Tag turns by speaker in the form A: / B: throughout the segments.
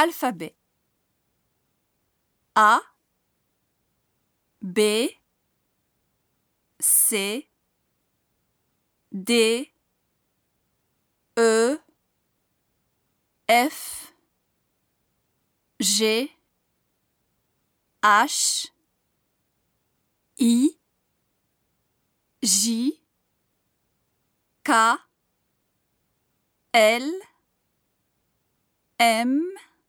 A: Alphabet. A, B, C, D, E, F, G, H, I, J, K, L, M,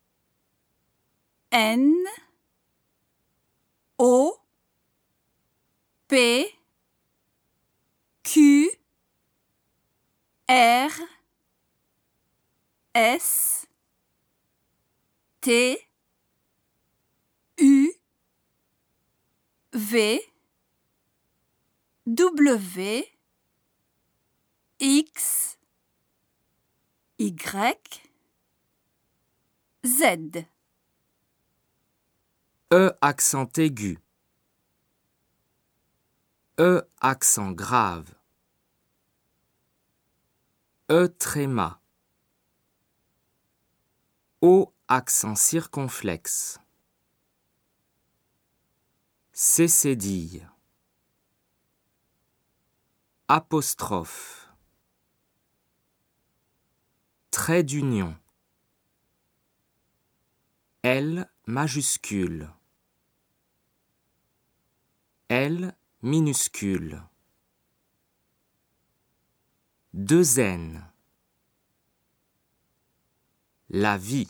A: N, O, P, Q, R, S, T, U, V, W, X, Y, Z.
B: E accent aigu. E accent grave. E tréma. O accent circonflexe. C cédille. Apostrophe. Trait d'union. L majuscule. L minuscule. Deux N. La vie.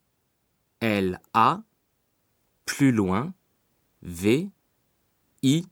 B: L A, plus loin, V, I,